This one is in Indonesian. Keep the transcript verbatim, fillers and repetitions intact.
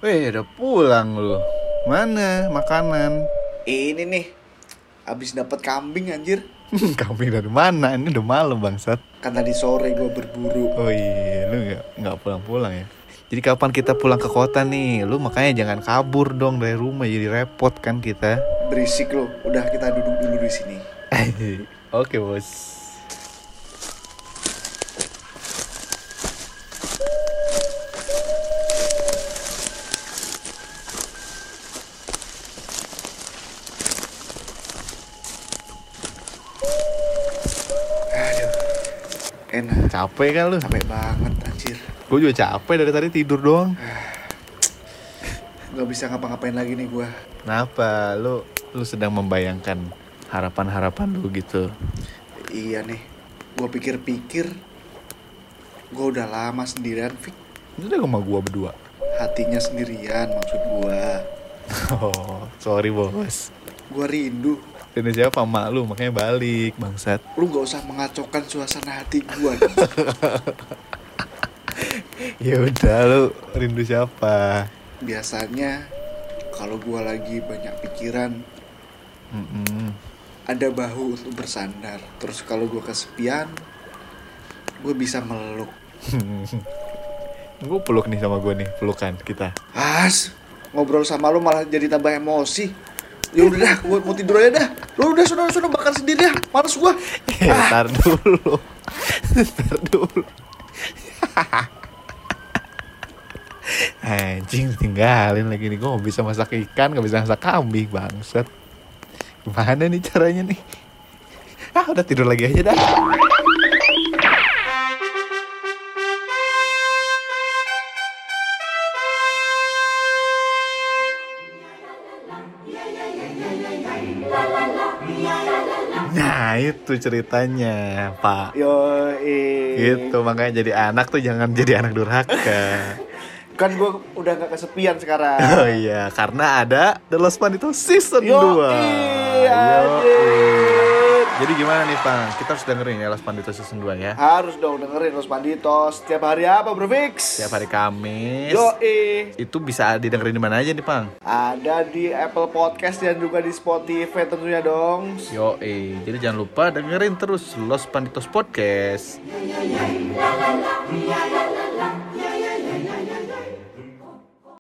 Weh, udah pulang lu. Mana makanan? Ini nih, abis dapat kambing anjir. Kambing dari mana? Ini udah malam bangsat. Kan tadi sore gue berburu. Oh iya, lu nggak nggak pulang-pulang ya? Jadi kapan kita pulang ke kota nih? Lu makanya jangan kabur dong dari rumah, jadi repot kan kita. Berisik lo, udah kita duduk dulu di sini. Oke bos. Aduh, enak. Capek kan lu? Capek banget anjir. Gue juga capek dari tadi tidur doang. Gak bisa ngapa-ngapain lagi nih gue. Kenapa? Lu lu sedang membayangkan harapan-harapan lu gitu. Iya nih, gue pikir-pikir gue udah lama sendirian, Fik. Itu udah sama gua berdua. Hatinya sendirian maksud gue. Oh, sorry bos. Gue rindu. Ini siapa mak lu, makanya balik bangsat. Lu gak usah mengacaukan suasana hati gue. Ya udah, lu rindu siapa? Biasanya kalau gue lagi banyak pikiran, Mm-mm. ada bahu untuk bersandar. Terus kalau gue kesepian, gue bisa meluk. Gue peluk nih sama gue nih, pelukan kita. As, ngobrol sama lu malah jadi tambah emosi. Ya udah dah, gue mau tidur aja dah. Lu udah sudah sudah bakar sendiri ya, males gue. Eh, tar dulu. Tar dulu. Anjing, tinggalin lagi nih. Gue gak bisa masak ikan, gak bisa masak kambing, bangsat. Gimana nih caranya nih? Ah, udah tidur lagi aja dah. Nah, itu ceritanya, Pak. Yo, Gitu, makanya jadi anak tuh jangan jadi anak durhaka. Kan gue udah gak kesepian sekarang. Oh iya, karena ada The Lost Pandito Season Yo, dua. iya, Jadi gimana nih, Pang? Kita harus dengerin ya Lost Pandito Season dua ya. Harus dong dengerin Los Panditos. Setiap hari apa, Bro Fix? Setiap hari Kamis. Yo, Itu bisa didengerin di mana aja nih, Pang? ada di Apple Podcast dan juga di Spotify tentunya dong. Yo, jadi jangan lupa dengerin terus Lost Panditos Podcast.